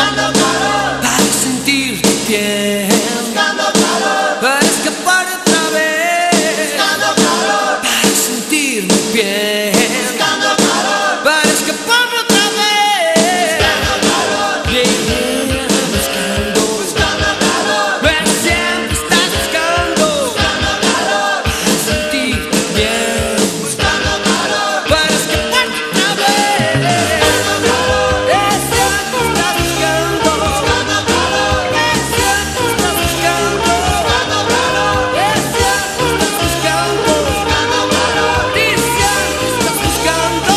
para sentir tu piel, para escapar otra vez, para sentir mi piel, para escapar otra vez, yeah, buscando, pero siempre estás buscando, para sentir tu piel, para escapar otra vez, es cierto, estás buscando, es cierto, estás buscando, es cierto, estás buscando, dice que estás buscando.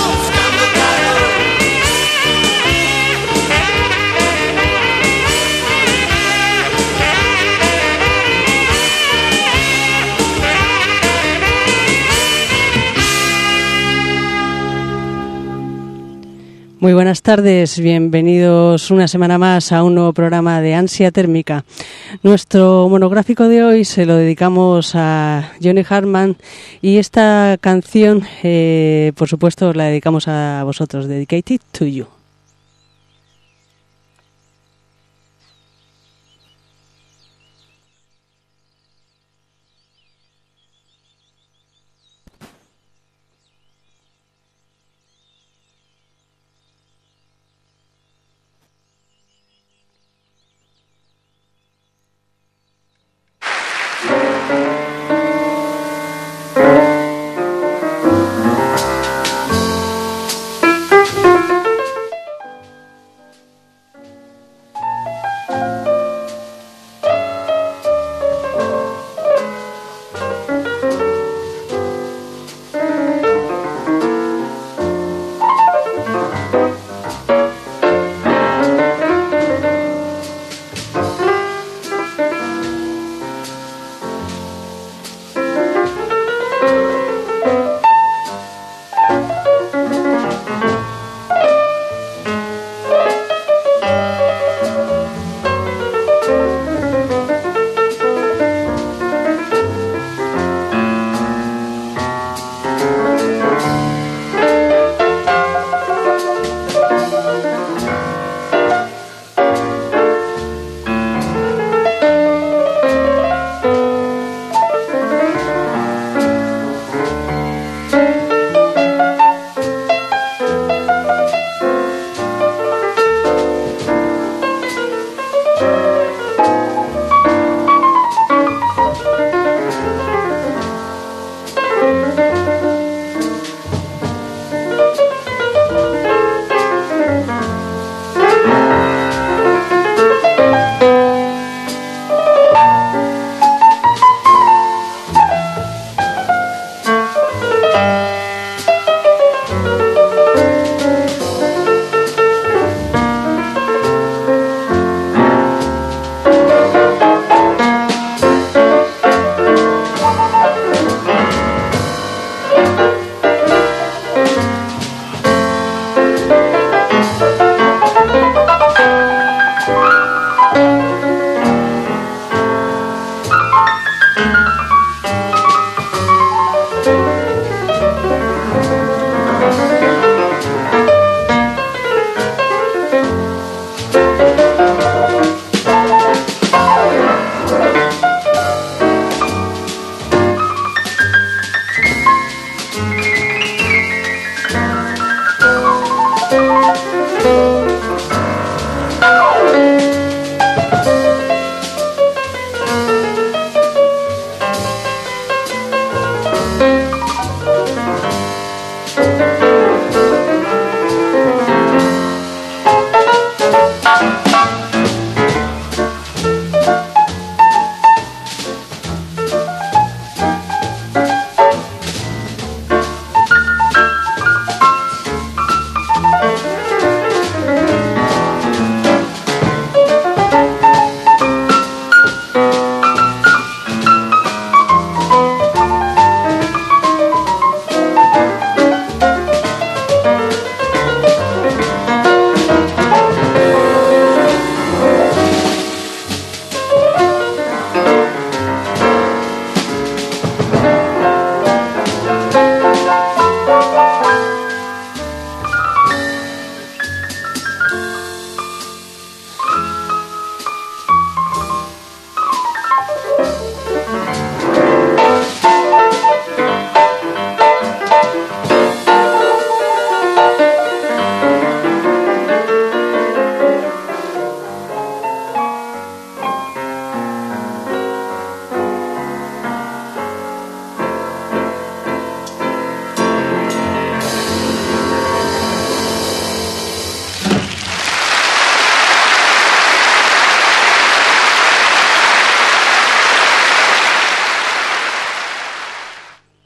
Muy buenas tardes, bienvenidos una semana más a un nuevo programa de Ansia Térmica. Nuestro monográfico de hoy se lo dedicamos a Johnny Hartman y esta canción, por supuesto, la dedicamos a vosotros, Dedicated to You.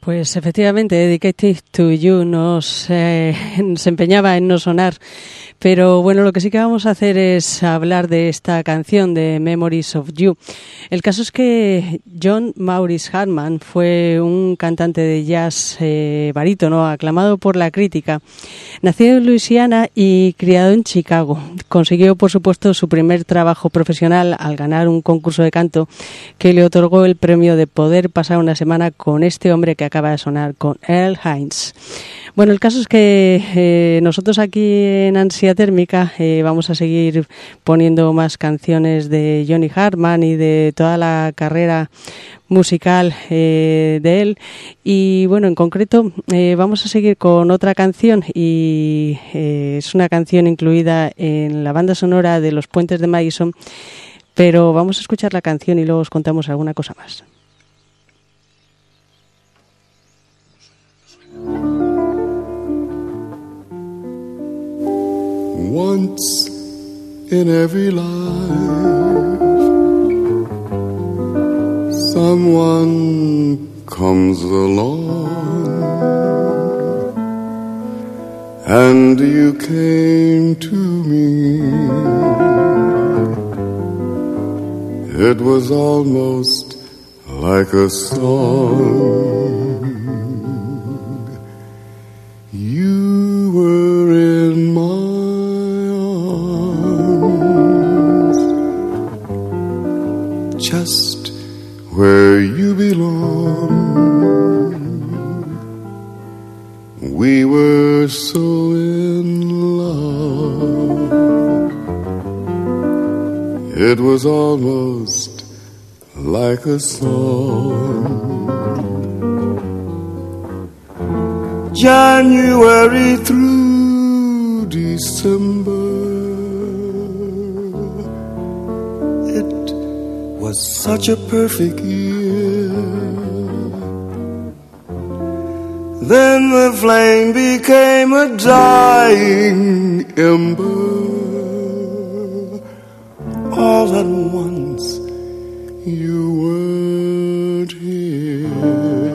Pues efectivamente, Dedicated to You se empeñaba en no sonar, pero bueno, lo que sí que vamos a hacer es hablar de esta canción de Memories of You. El caso es que John Maurice Hartman fue un cantante de jazz barítono, aclamado por la crítica. Nacido en Luisiana y criado en Chicago, consiguió por supuesto su primer trabajo profesional al ganar un concurso de canto que le otorgó el premio de poder pasar una semana con este hombre que acaba de sonar, con Earl Hines. Bueno, el caso es que nosotros aquí en Ansia Térmica vamos a seguir poniendo más canciones de Johnny Hartman y de toda la carrera musical de él, y bueno, en concreto vamos a seguir con otra canción, y es una canción incluida en la banda sonora de Los Puentes de Madison, pero vamos a escuchar la canción y luego os contamos alguna cosa más. Once in every life, someone comes along, and you came to me. It was almost like a song. You were in my just where you belong. We were so in love. It was almost like a song. January through December, was such a perfect year. Then the flame became a dying ember. All at once you weren't here.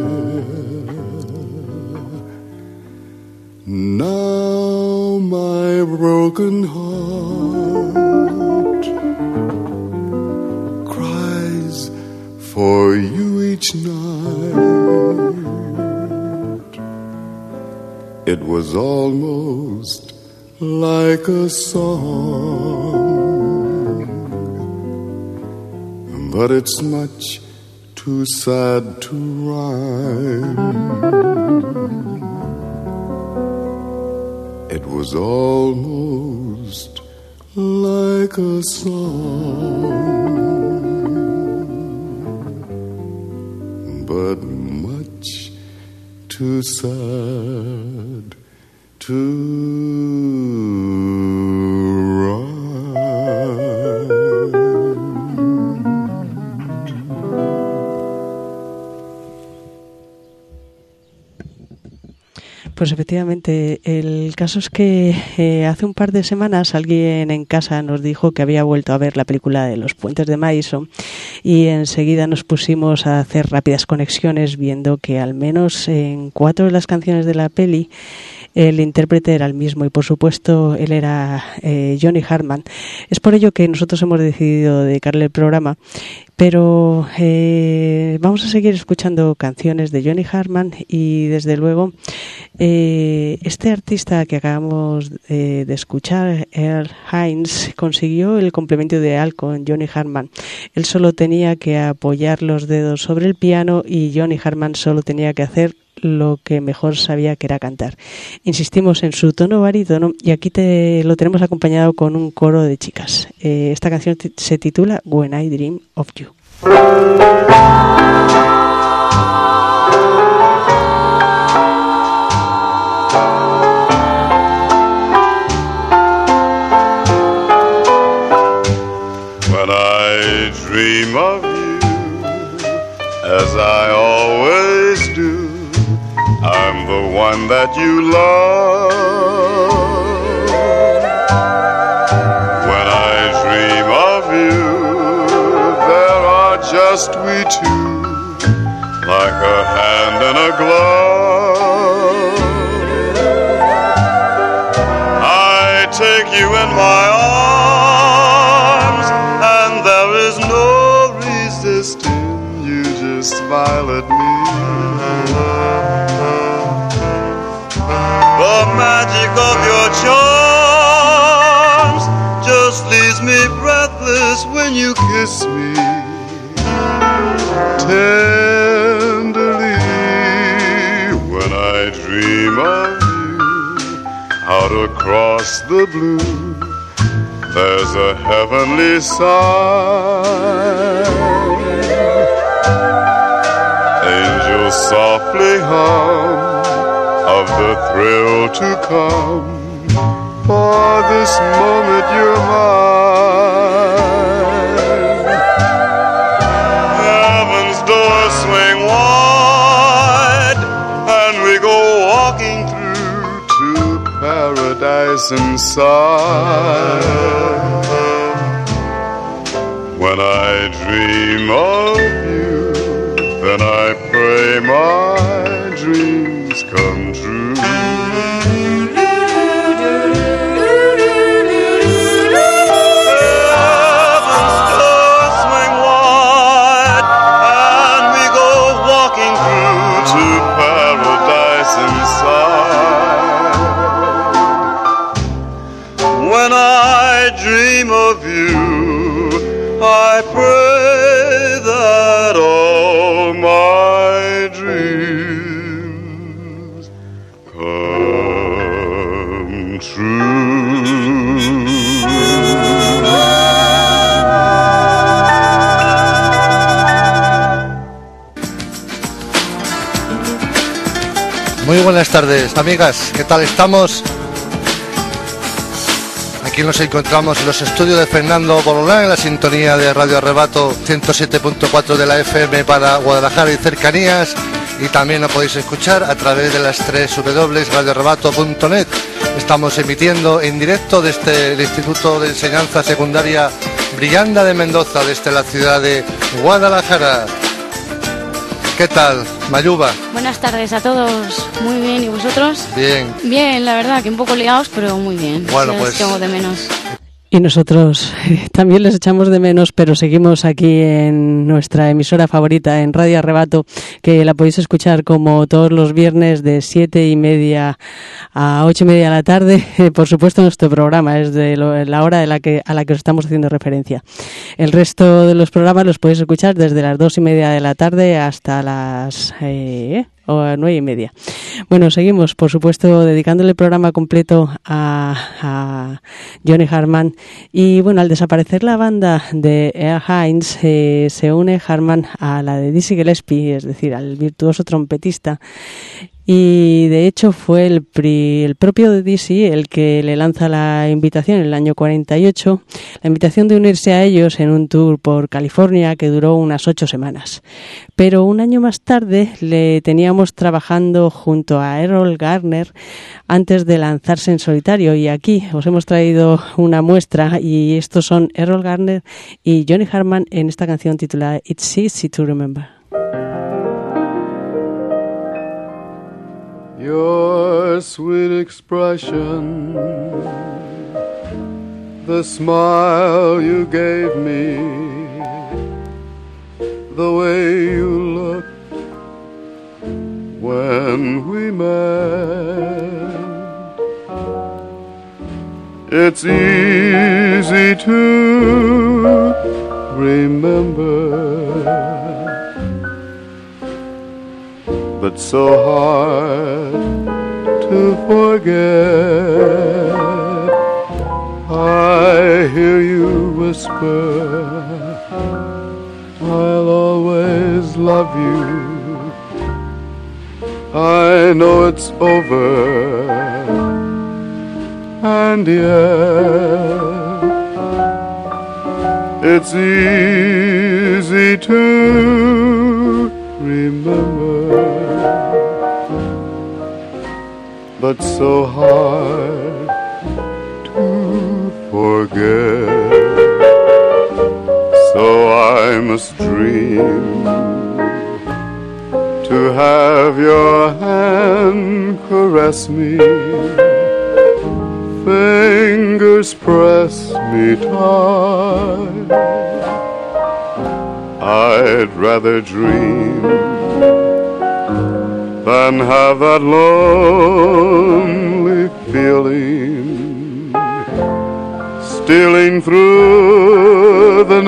Now my broken heart for you each night. It was almost like a song, but it's much too sad to rhyme. It was almost like a song, but much too sad to rhyme. Pues efectivamente, el caso es que hace un par de semanas alguien en casa nos dijo que había vuelto a ver la película de Los Puentes de Madison y enseguida nos pusimos a hacer rápidas conexiones viendo que al menos en 4 de las canciones de la peli el intérprete era el mismo y por supuesto él era Johnny Hartman. Es por ello que nosotros hemos decidido dedicarle el programa, pero vamos a seguir escuchando canciones de Johnny Hartman y desde luego este artista que acabamos de escuchar, Earl Hines, consiguió el complemento ideal con Johnny Hartman. Él solo tenía que apoyar los dedos sobre el piano y Johnny Hartman solo tenía que hacer lo que mejor sabía, que era cantar. Insistimos en su tono barítono y aquí lo tenemos acompañado con un coro de chicas. Esta canción se titula When I Dream of You. When I dream of you, as I always do, I'm the one that you love. When I dream of you, there are just we two, like a hand in a glove. I take you in my arms, and there is no resisting. You just smile at me. The magic of your charms just leaves me breathless when you kiss me tenderly. When I dream of you out across the blue, there's a heavenly sigh. Angels softly hum of the thrill to come, for this moment you're mine. Heaven's doors swing wide, and we go walking through to paradise inside. When I dream of you, then I pray my dreams come true. Heaven's doors swing wide, and we go walking through to paradise inside. When I dream of you, I pray that all my dreams come true. Muy buenas tardes, amigas, ¿qué tal estamos? Aquí nos encontramos en los estudios de Fernando Bololán, en la sintonía de Radio Arrebato 107.4 de la FM para Guadalajara y cercanías, y también lo podéis escuchar a través de las 3 www.radioarrebato.net. Estamos emitiendo en directo desde el Instituto de Enseñanza Secundaria Brianda de Mendoza, desde la ciudad de Guadalajara. ¿Qué tal, Mayuba? Buenas tardes a todos. Muy bien, ¿y vosotros? Bien. Bien, la verdad, que un poco liados, pero muy bien. Bueno, sí, pues... os tengo de menos. Y nosotros también les echamos de menos, pero seguimos aquí en nuestra emisora favorita, en Radio Arrebato, que la podéis escuchar como todos los viernes de 7:30 a 8:30 de la tarde. Por supuesto, nuestro programa es de la hora a la que os estamos haciendo referencia. El resto de los programas los podéis escuchar desde las 2:30 de la tarde hasta las... o a 9:30. Bueno, seguimos, por supuesto, dedicándole el programa completo a Johnny Hartman. Y bueno, al desaparecer la banda de Earl Hines, se une Hartman a la de Dizzy Gillespie, es decir, al virtuoso trompetista. Y de hecho fue el propio Dizzy el que le lanza la invitación en el año 48, la invitación de unirse a ellos en un tour por California que duró unas 8 semanas. Pero un año más tarde le teníamos trabajando junto a Errol Garner antes de lanzarse en solitario, y aquí os hemos traído una muestra, y estos son Errol Garner y Johnny Hartman en esta canción titulada It's Easy to Remember. Your sweet expression, the smile you gave me, the way you looked when we met. It's easy to remember, but so hard to forget. I hear you whisper, I'll always love you. I know it's over, and yet it's easy to remember, but so hard to forget. So I must dream caress me, fingers press me tight. I'd rather dream than have that lonely feeling stealing through the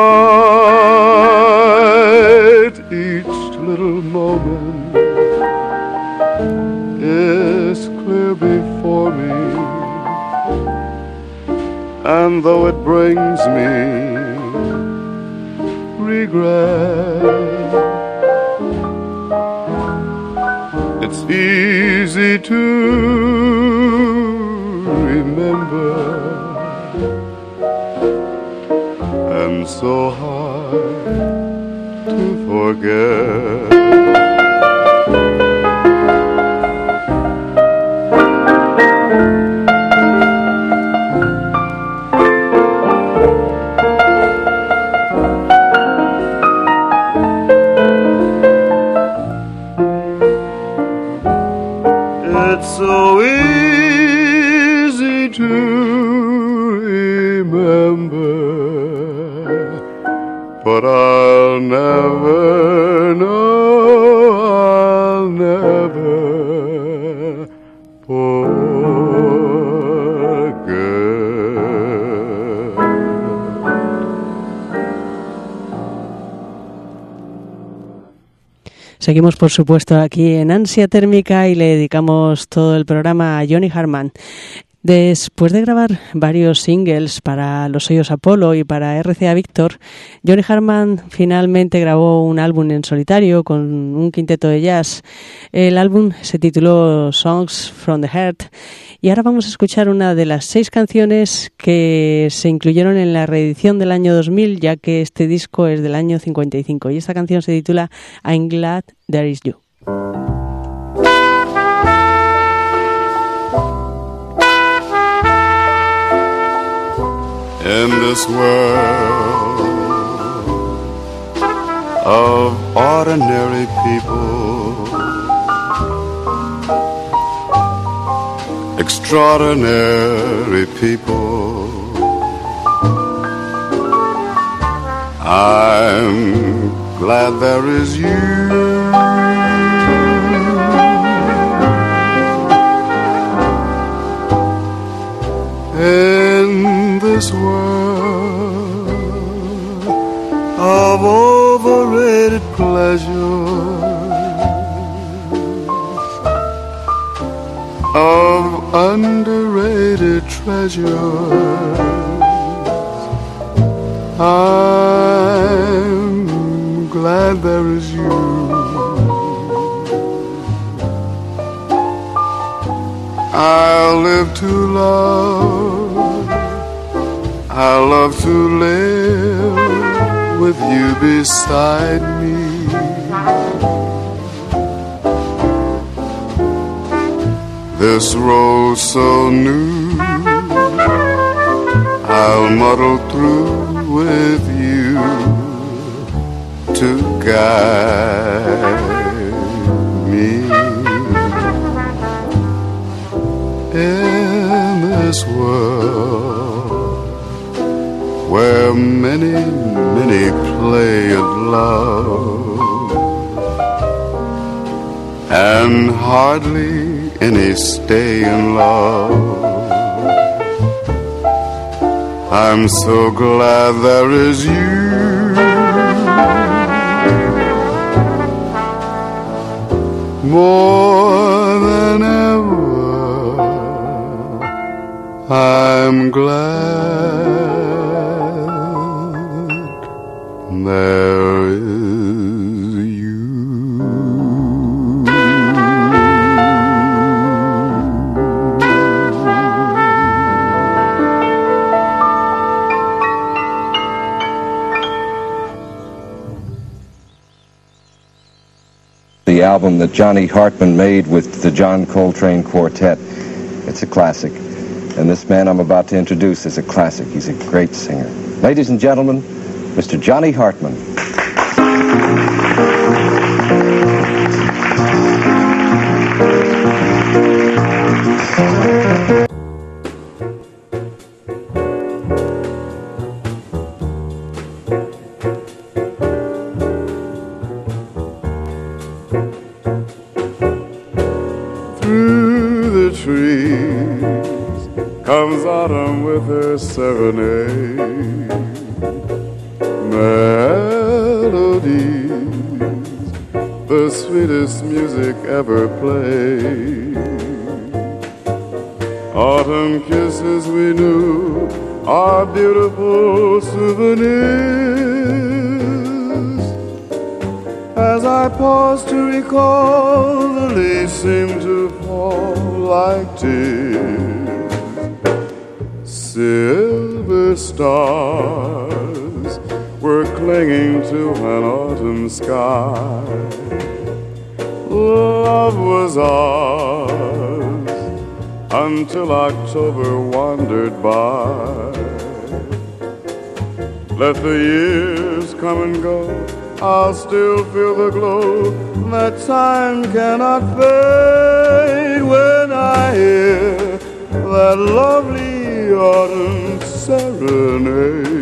night. Each little moment is clear before me, and though it brings me regret, it's easy to remember and so hard to forget. It's so easy to remember, but I'll never know, I'll never Seguimos, por supuesto, aquí en Ansia Térmica y le dedicamos todo el programa a Johnny Hartman. Después de grabar varios singles para Los Sellos Apollo y para RCA Victor, Johnny Hartman finalmente grabó un álbum en solitario con un quinteto de jazz. El álbum se tituló Songs from the Heart y ahora vamos a escuchar una de las 6 canciones que se incluyeron en la reedición del año 2000, ya que este disco es del año 55 y esta canción se titula I'm Glad There Is You. In this world of ordinary people, extraordinary people, I'm glad there is you. In this world of overrated pleasures, of underrated treasures, I'm glad there is you. I'll live to love, I'll love to live with you beside me. This road so new, I'll muddle through with you to guide me. In this world where many, many play at love and hardly any stay in love, I'm so glad there is you. More than ever I'm glad there is you. The album that Johnny Hartman made with the John Coltrane Quartet. It's a classic. And this man I'm about to introduce is a classic. He's a great singer. Ladies and gentlemen, Mr. Johnny Hartman. serenade. Melodies, the sweetest music ever played. Autumn kisses we knew are beautiful souvenirs. As I pause to recall, the leaves seem to fall like tears. Silver stars were clinging to an autumn sky. Love was ours until October wandered by. Let the years come and go, I'll still feel the glow that time cannot fade when I hear that lovely autumn serenade.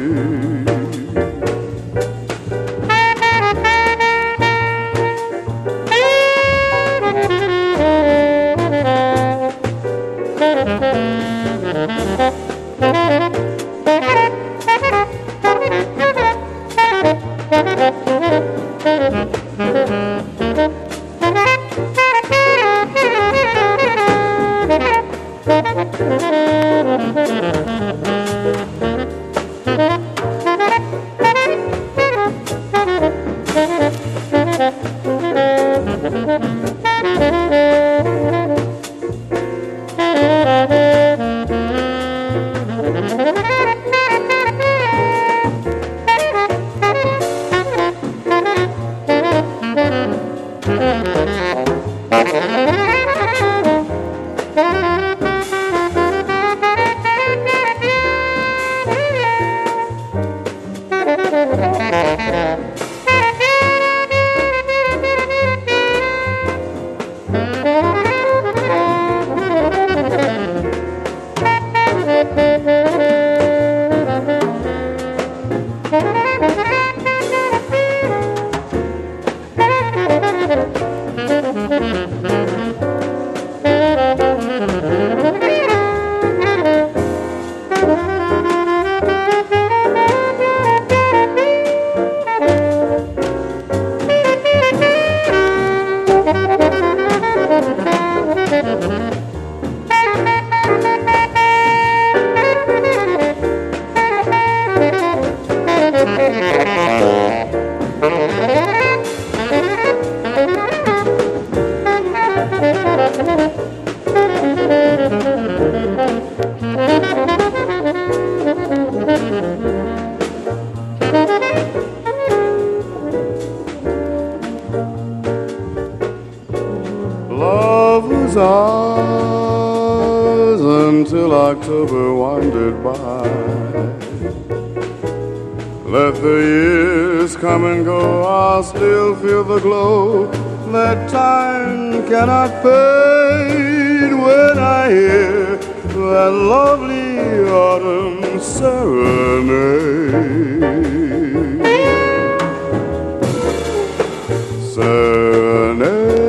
Love was ours until October wandered by. Let the years come and go, I'll still feel the glow that time cannot fade when I hear that lovely autumn serenade. Serenade.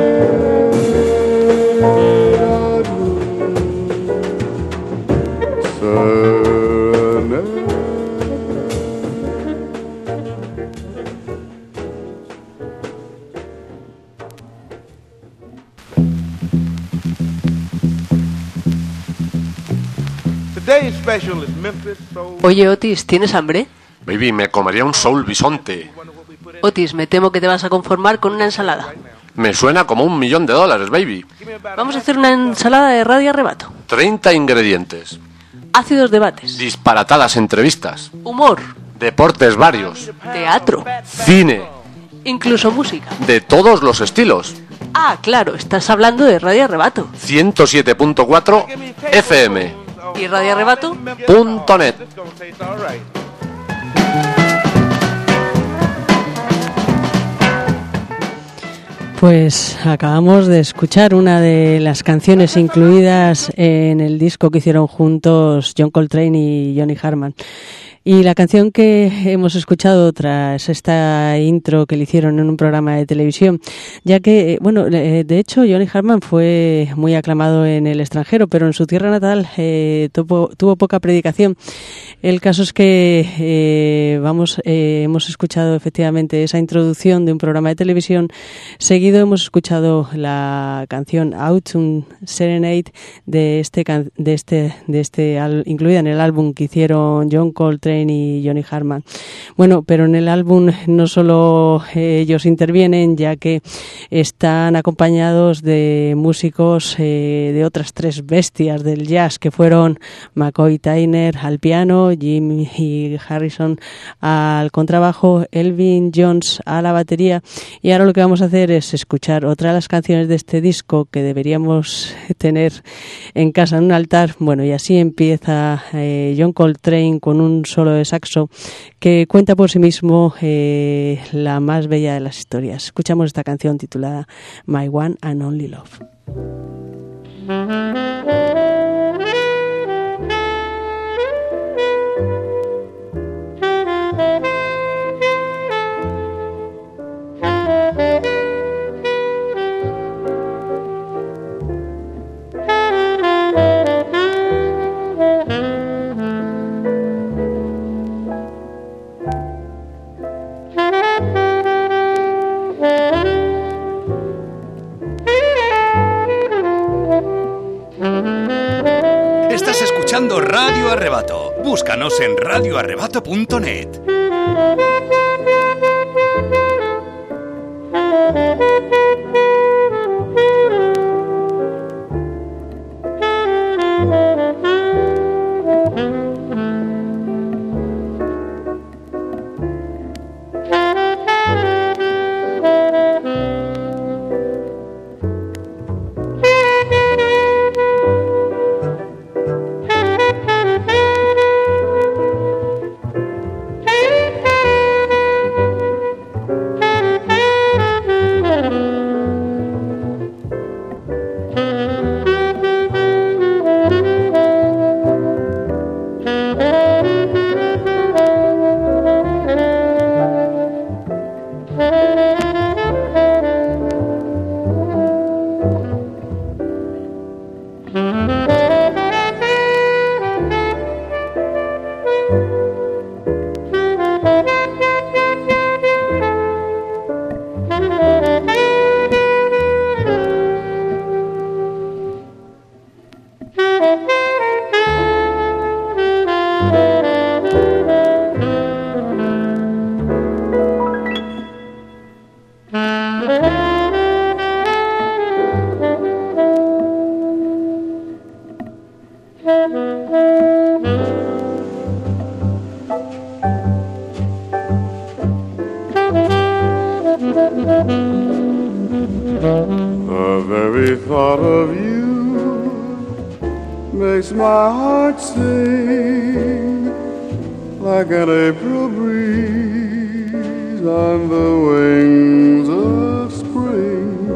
Oye, Otis, ¿tienes hambre? Baby, me comería un soul bisonte. Otis, me temo que te vas a conformar con una ensalada. Me suena como $1.000.000, baby. Vamos a hacer una ensalada de radio arrebato. 30 ingredientes. Ácidos debates. Disparatadas entrevistas. Humor. Deportes varios. Teatro. Cine. Incluso música. De todos los estilos. Ah, claro, estás hablando de Radio Arrebato. 107.4 FM. ¿Y radioarrebato.net? Pues acabamos de escuchar una de las canciones incluidas en el disco que hicieron juntos John Coltrane y Johnny Hartman. Y la canción que hemos escuchado tras esta intro que le hicieron en un programa de televisión, ya que, de hecho, Johnny Hartman fue muy aclamado en el extranjero, pero en su tierra natal tuvo poca predicación. El caso es que hemos escuchado efectivamente esa introducción de un programa de televisión. Seguido hemos escuchado la canción Autumn Serenade incluida en el álbum que hicieron John Coltrane y Johnny Hartman. Bueno, pero en el álbum no solo ellos intervienen, ya que están acompañados de músicos de otras tres bestias del jazz, que fueron McCoy Tyner al piano, Jim y Harrison al contrabajo, Elvin Jones a la batería. Y ahora lo que vamos a hacer es escuchar otra de las canciones de este disco que deberíamos tener en casa en un altar. Bueno, y así empieza John Coltrane con un solo de saxo que cuenta por sí mismo la más bella de las historias. Escuchamos esta canción titulada My One and Only Love. Estás escuchando Radio Arrebato. Búscanos en radioarrebato.net. The very thought of you makes my heart sing like an April breeze on the wings of spring,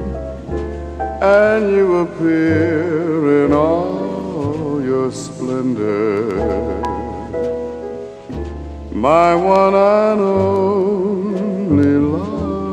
and you appear in all your splendor, my one and only love.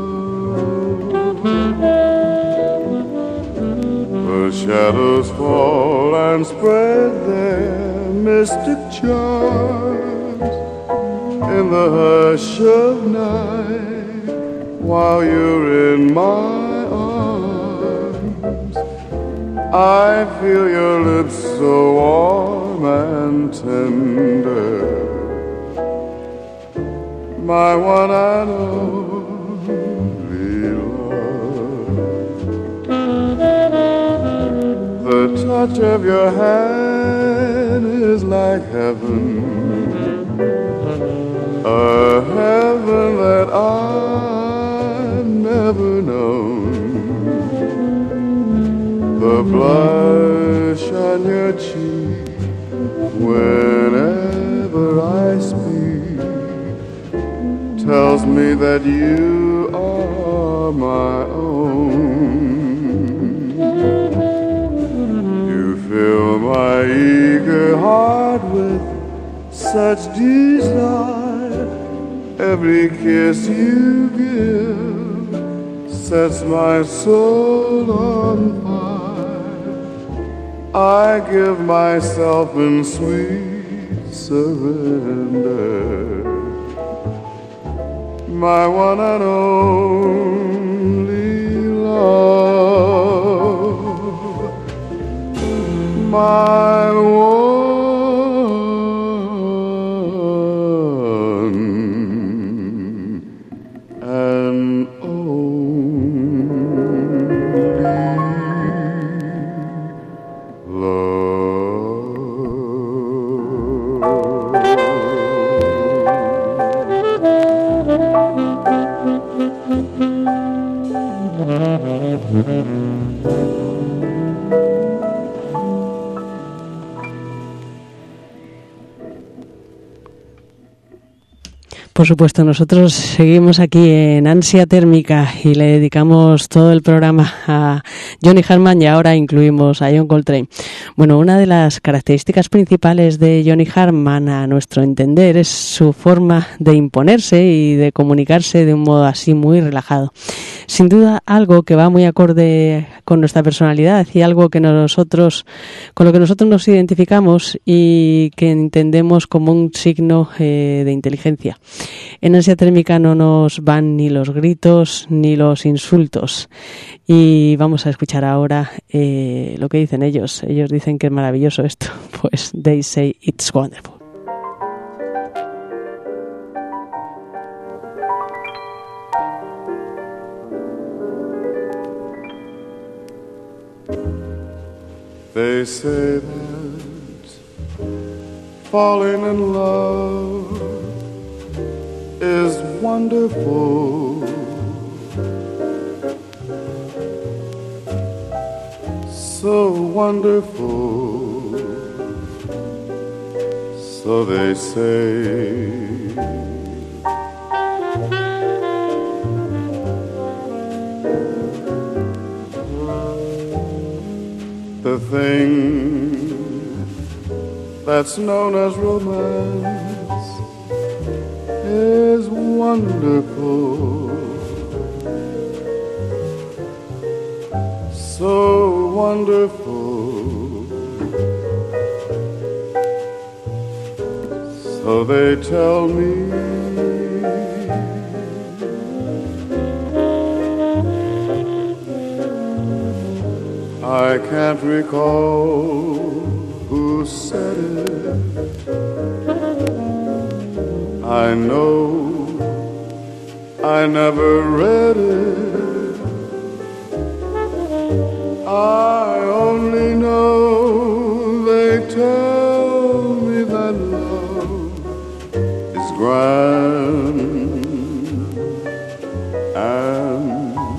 The shadows fall and spread their mystic charms in the hush of night while you're in my arms. I feel your lips so warm and tender, my one and only love. The touch of your hand is like heaven, a heaven that I've never known. The blush on your cheek whenever I speak tells me that you are my own. You fill my eager heart with such desire. Every kiss you give sets my soul on fire. I give myself in sweet surrender. My one and only love, my one and Por supuesto, nosotros seguimos aquí en Ansia Térmica y le dedicamos todo el programa a Johnny Hartman y ahora incluimos a John Coltrane. Bueno, una de las características principales de Johnny Hartman, a nuestro entender, es su forma de imponerse y de comunicarse de un modo así muy relajado. Sin duda, algo que va muy acorde con nuestra personalidad y algo que con lo que nosotros nos identificamos y que entendemos como un signo de inteligencia. En Ansia Térmica no nos van ni los gritos ni los insultos. Y vamos a escuchar ahora lo que dicen ellos. Ellos dicen que es maravilloso esto. Pues they say it's wonderful. They say that falling in love is wonderful. So wonderful. So they say. The thing that's known as romance is wonderful, so wonderful. So they tell me I can't recall who said it. I know I never read it. I only know they tell me that love is grand and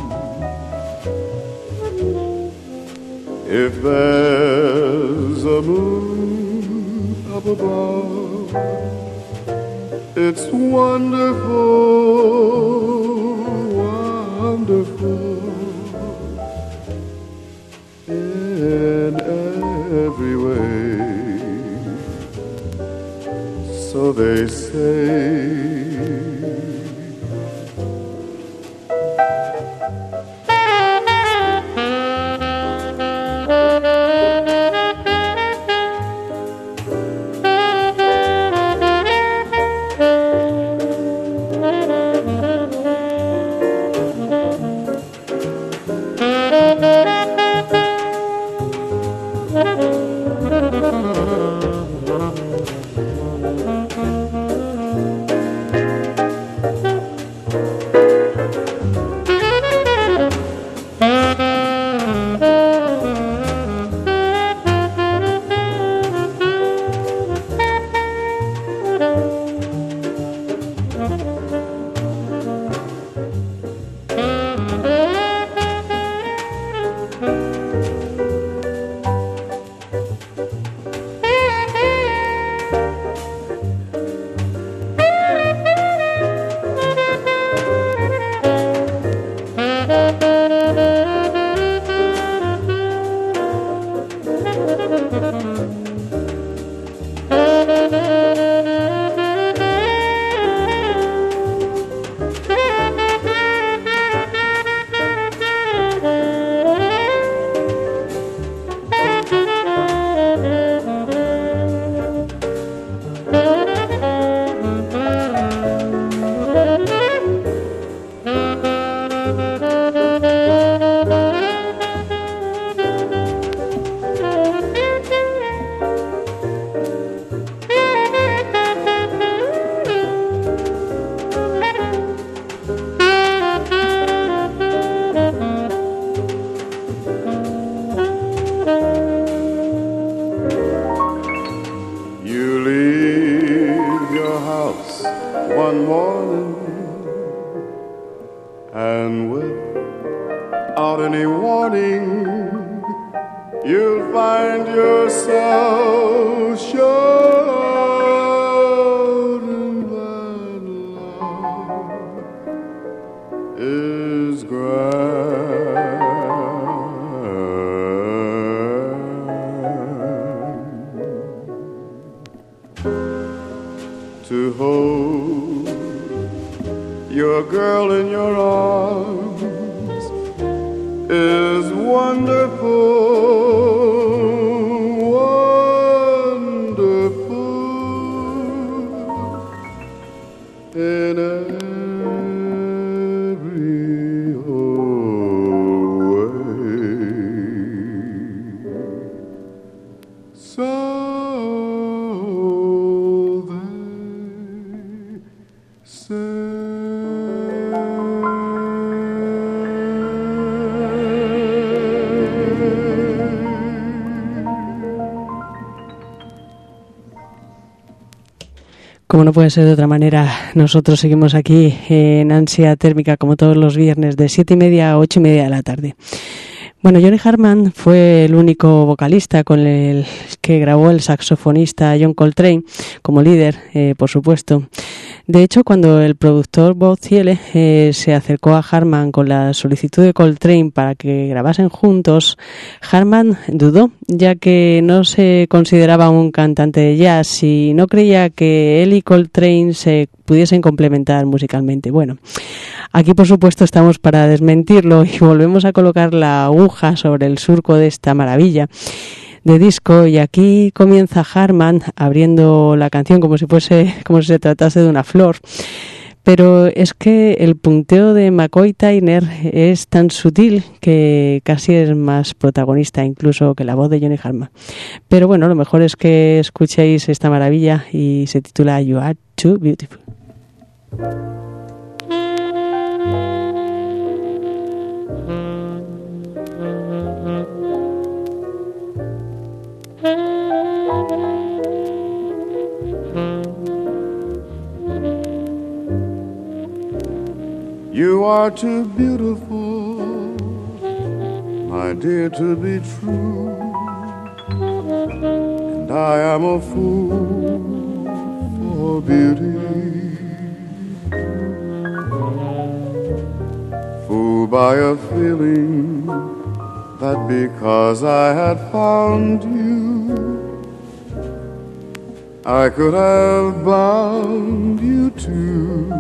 if there's a moon up above, it's wonderful, wonderful in every way. So they say. morning, and without any warning, you'll find yourself shouting that love is grand. To hold your girl in your arms is wonderful. In every way, so they say. Como no puede ser de otra manera, nosotros seguimos aquí en Ansia Térmica como todos los viernes de 7:30 a 8:30 de la tarde. Bueno, Johnny Hartman fue el único vocalista con el que grabó el saxofonista John Coltrane como líder, por supuesto. De hecho, cuando el productor Bob Thiele se acercó a Hartman con la solicitud de Coltrane para que grabasen juntos, Hartman dudó, ya que no se consideraba un cantante de jazz y no creía que él y Coltrane se pudiesen complementar musicalmente. Bueno, aquí por supuesto estamos para desmentirlo y volvemos a colocar la aguja sobre el surco de esta maravilla de disco, y aquí comienza Hartman abriendo la canción como si se tratase de una flor. Pero es que el punteo de McCoy Tyner es tan sutil que casi es más protagonista incluso que la voz de Johnny Hartman. Pero bueno, lo mejor es que escuchéis esta maravilla y se titula You Are Too Beautiful. You are too beautiful, my dear, to be true, and I am a fool for beauty, fooled by a feeling that because I had found you, I could have bound you too.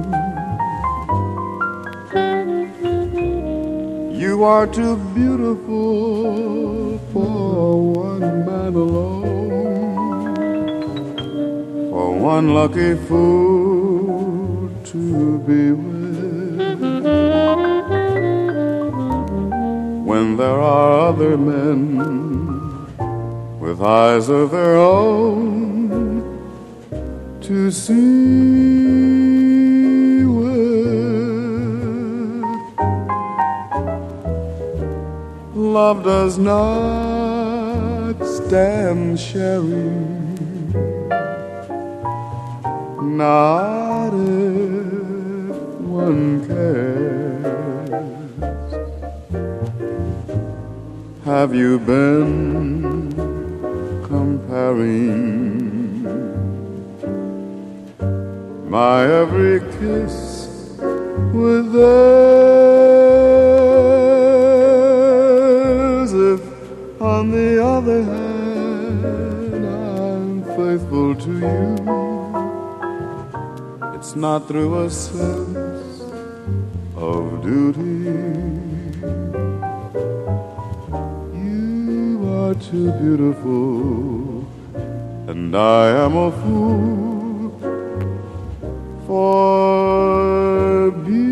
You are too beautiful for one man alone, for one lucky fool to be with, when there are other men with eyes of their own to see with. Love does not stand sharing, not if one cares. Have you been comparing my every kiss with theirs? If, on the other hand, I'm faithful to you, it's not through a sense of duty. You are too beautiful, and I am a fool for beauty.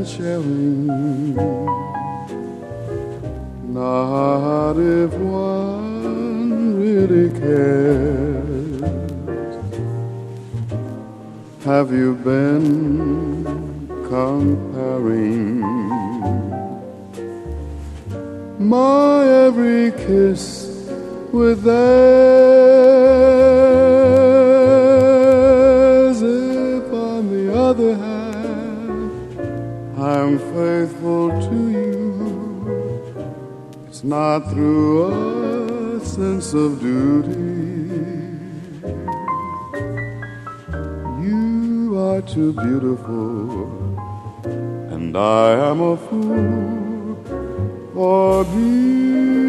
sharing. Not if one really cares. Have you been comparing my every kiss with theirs? If on the other hand I'm faithful to you, it's not through a sense of duty. You are too beautiful, and I am a fool for beauty.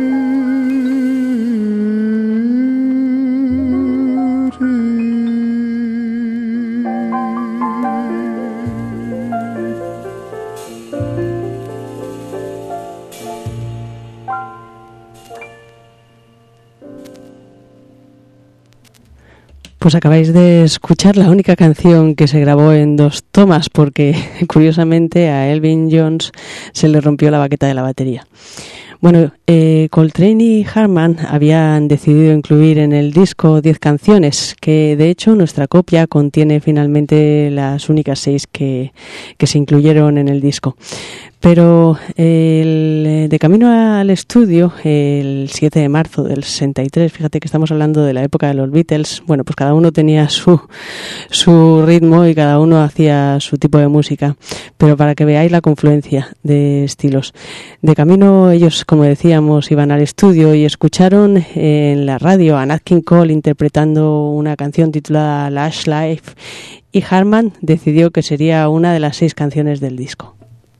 Pues acabáis de escuchar la única canción que se grabó en 2 tomas, porque curiosamente a Elvin Jones se le rompió la baqueta de la batería. Bueno, Coltrane y Hartman habían decidido incluir en el disco 10 canciones, que de hecho nuestra copia contiene finalmente las únicas 6 que se incluyeron en el disco. Pero de camino al estudio, el 7 de marzo del 63, fíjate que estamos hablando de la época de los Beatles, bueno, pues cada uno tenía su ritmo y cada uno hacía su tipo de música, pero para que veáis la confluencia de estilos. De camino ellos, como decíamos, iban al estudio y escucharon en la radio a Nat King Cole interpretando una canción titulada Lush Life, y Hartman decidió que sería una de las 6 canciones del disco.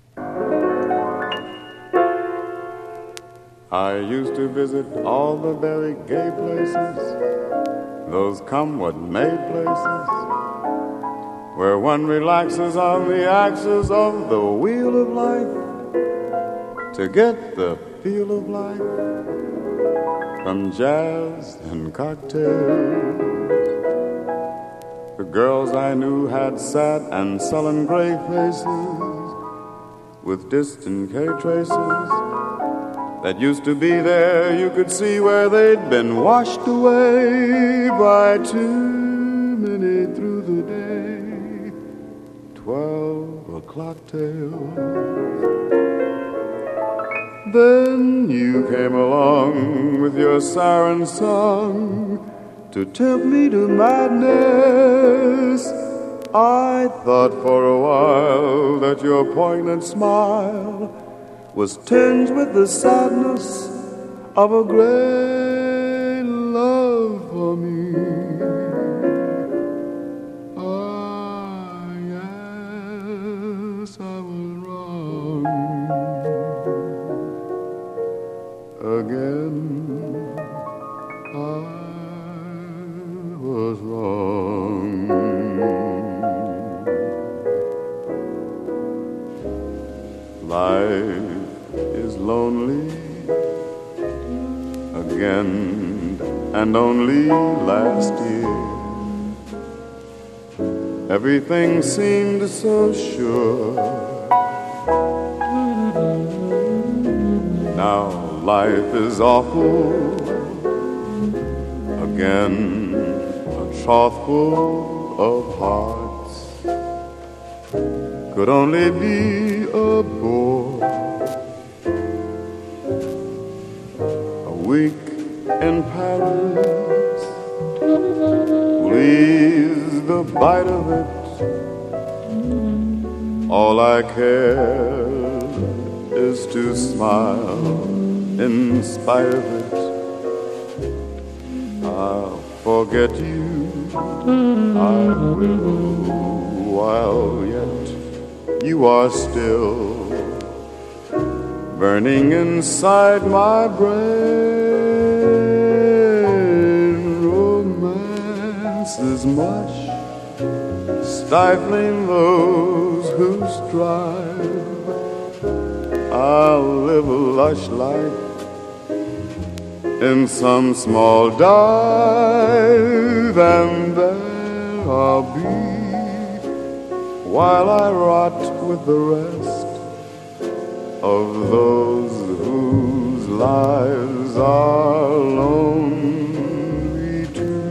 I used to visit all the very gay places, those come-what-may places, where one relaxes on the axis of the wheel of life to get the feel of life from jazz and cocktails. The girls I knew had sad and sullen gray faces with distant K traces that used to be there. You could see where they'd been washed away by too many through the day 12 o'clock tales. Then you came along with your siren song to tempt me to madness. I thought for a while that your poignant smile was tinged with the sadness of a great love for me. Ah, yes, I was wrong again. I was wrong. Life is lonely again, and only last year everything seemed so sure. Now life is awful again, a trough full of hearts could only be a bore. Week in Paris, please the bite of it. All I care is to smile in spite of it. I'll forget you, I will, while yet you are still burning inside my brain. Romance is much, stifling those who strive. I'll live a lush life in some small dive, and there I'll be while I rot with the rest. of those whose lives are lonely too.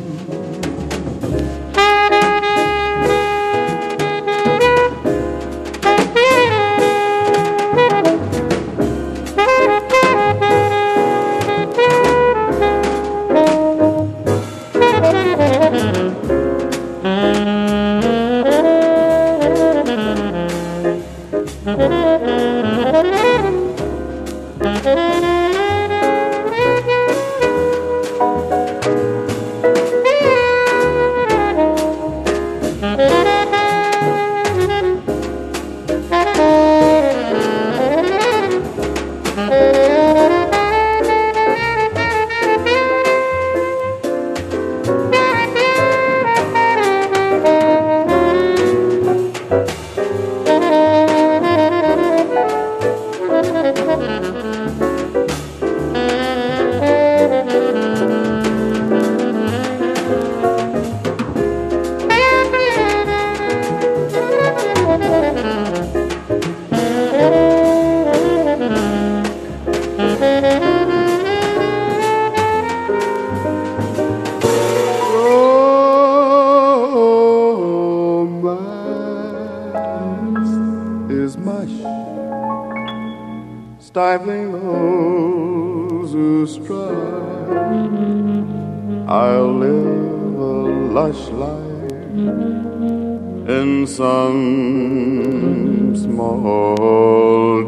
Stifling those who strive, I'll live a lush life in some small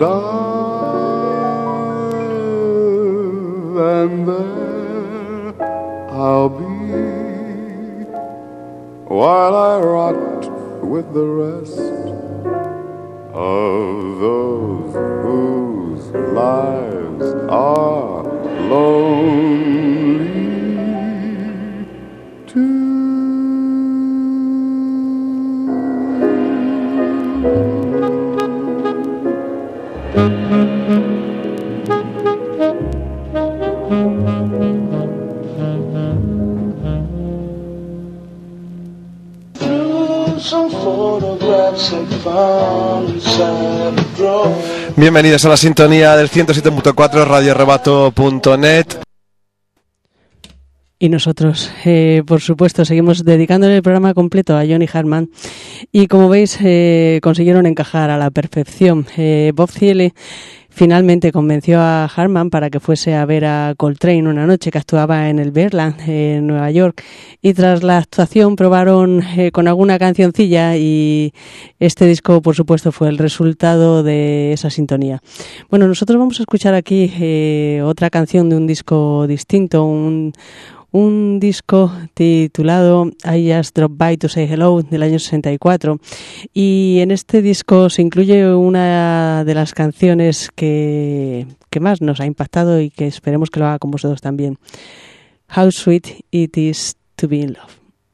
dive, and there I'll be while I rot with the rest of those whose lives are lonely too. Bienvenidos a la sintonía del 107.4 radioarrebato.net. Y nosotros, por supuesto, seguimos dedicándole el programa completo a Johnny Hartman. Y como veis, consiguieron encajar a la perfección. Bob Thiele finalmente convenció a Hartman para que fuese a ver a Coltrane una noche que actuaba en el Birdland, en Nueva York. Y tras la actuación probaron con alguna cancioncilla y este disco, por supuesto, fue el resultado de esa sintonía. Bueno, nosotros vamos a escuchar aquí otra canción de un disco distinto, un disco titulado I Just Dropped By to Say Hello del año 64, y en este disco se incluye una de las canciones que más nos ha impactado y que esperemos que lo haga con vosotros también. How Sweet It Is to Be in Love.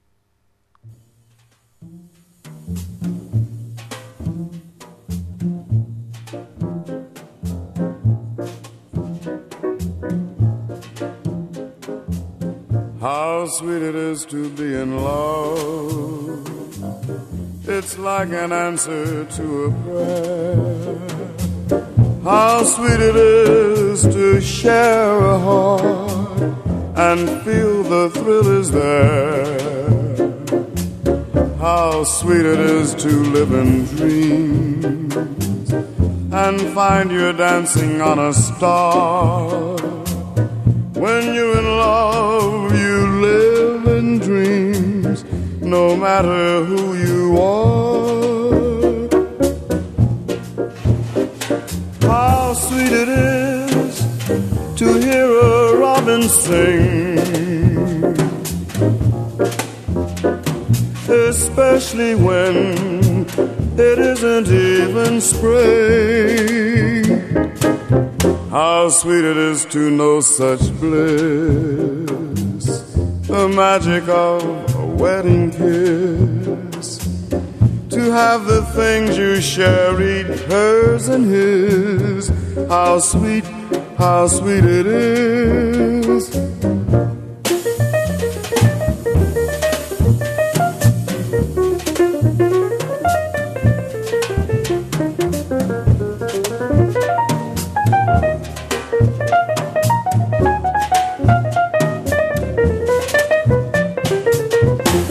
How sweet it is to be in love. It's like an answer to a prayer. How sweet it is to share a heart and feel the thrill is there. How sweet it is to live in dreams and find you're dancing on a star. When you're in love, you live in dreams, no matter who you are. How sweet it is to hear a robin sing, especially when it isn't even spring. How sweet it is to know such bliss, the magic of a wedding kiss, to have the things you share each hers and his. How sweet it is.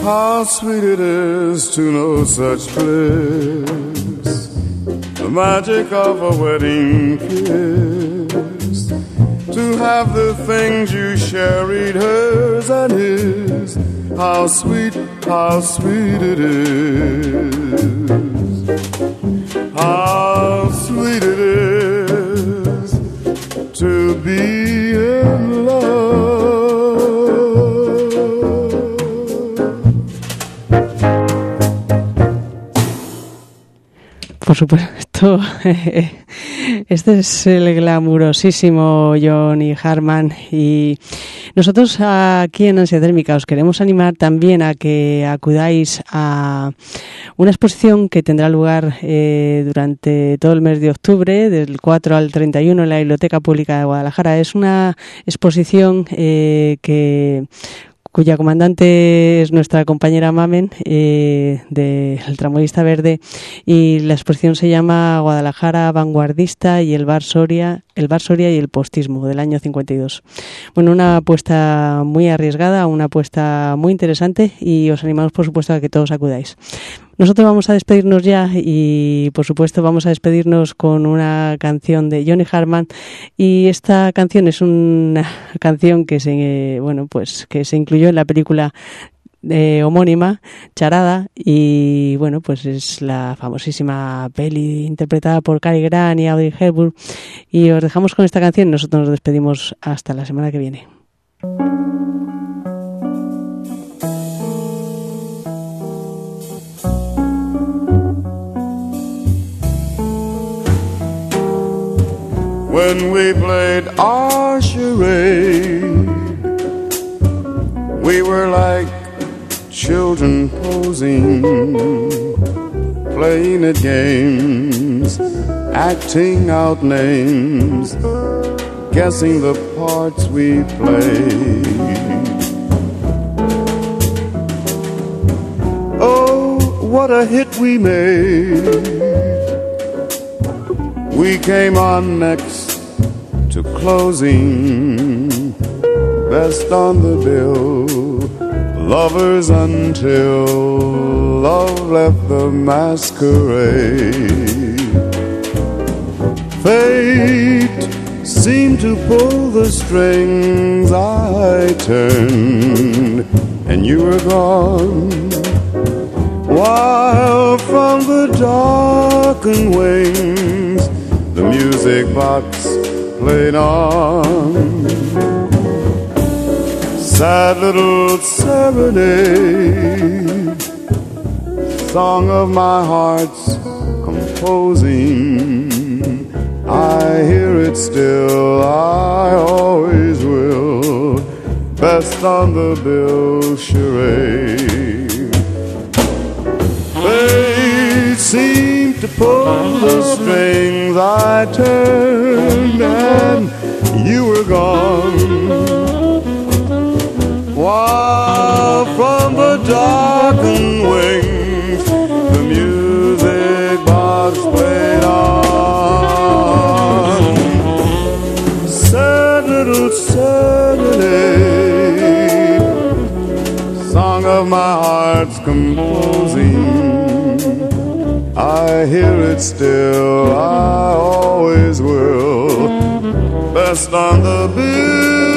how sweet it is to know such bliss, the magic of a wedding kiss, to have the things you share eat hers and his. How sweet it is. How sweet it is to be in love. Por supuesto, este es el glamurosísimo Johnny Hartman, y nosotros aquí en Ansia Térmica os queremos animar también a que acudáis a una exposición que tendrá lugar durante todo el mes de octubre, del 4 al 31 en la Biblioteca Pública de Guadalajara. Es una exposición cuya comandante es nuestra compañera Mamen, del Tramoyista Verde, y la exposición se llama Guadalajara Vanguardista y el Bar Soria y el Postismo, del año 52. Bueno, una apuesta muy arriesgada, una apuesta muy interesante, y os animamos, por supuesto, a que todos acudáis. Nosotros vamos a despedirnos ya, y por supuesto vamos a despedirnos con una canción de Johnny Hartman, y esta canción es una canción que se incluyó en la película homónima, Charada, y bueno, pues es la famosísima peli interpretada por Cary Grant y Audrey Hepburn, y os dejamos con esta canción. Nosotros nos despedimos hasta la semana que viene. When we played our charade, we were like children posing, playing at games, acting out names, guessing the parts we played. Oh, what a hit we made. We came on next to closing, best on the bill, lovers until love left the masquerade. Fate seemed to pull the strings, I turned and you were gone, while from the darkened wings the music box played on. Sad little serenade, song of my heart's composing. I hear it still, I always will, best on the bill charade. Fate seemed to pull the strings, I turned and you were gone, while from the darkened wings the music box played on. Sad little serenade, song of my heart's composing. I hear it still, I always will, best on the bill.